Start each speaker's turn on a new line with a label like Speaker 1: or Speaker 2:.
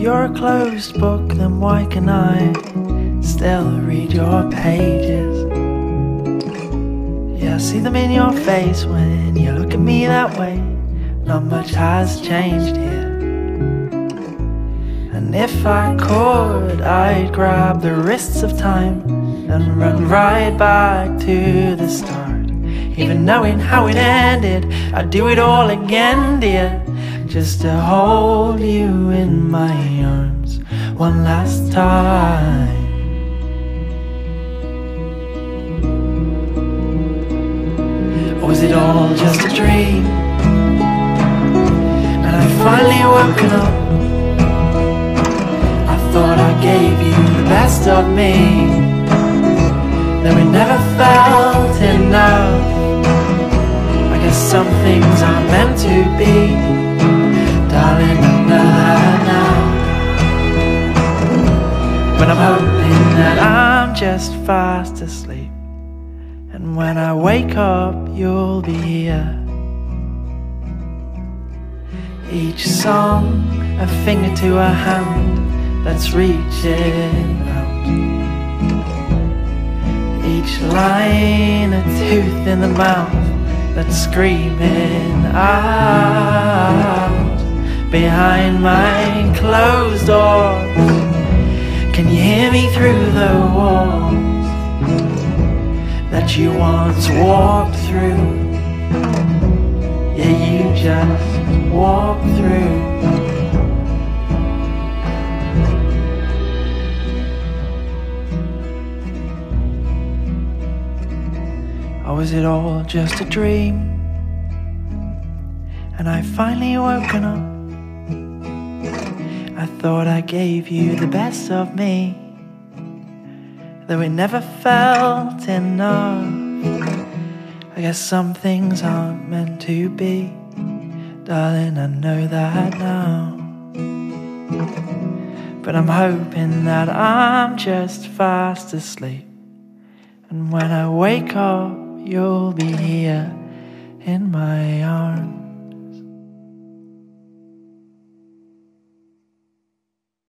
Speaker 1: you're a closed book, then why can I still read your pages? Yeah, I see them in your face when you look at me that way. Not much has changed here. And if I could, I'd grab the wrists of time and run right back to the start. Even knowing how it ended, I'd do it all again, dear, just to hold you in my arms one last time. Or was it all just a dream? And I finally woken up. I thought I gave you the best of me, then we never felt enough. I guess some things are meant to be, darling, I know that now. But I'm hoping that I'm just fast asleep, and when I wake up you'll be here. Each song a finger to a hand that's reaching out, each line a tooth in the mouth that's screaming out. Behind my closed doors, can you hear me through the walls that you once walked through? Yeah, you just walked through. Or was it all just a dream? And I finally woken up. I thought I gave you the best of me, though it never felt enough. I guess some things aren't meant to be, darling, I know that now. But I'm hoping that I'm just fast asleep, and when I wake up you'll be here in my arms.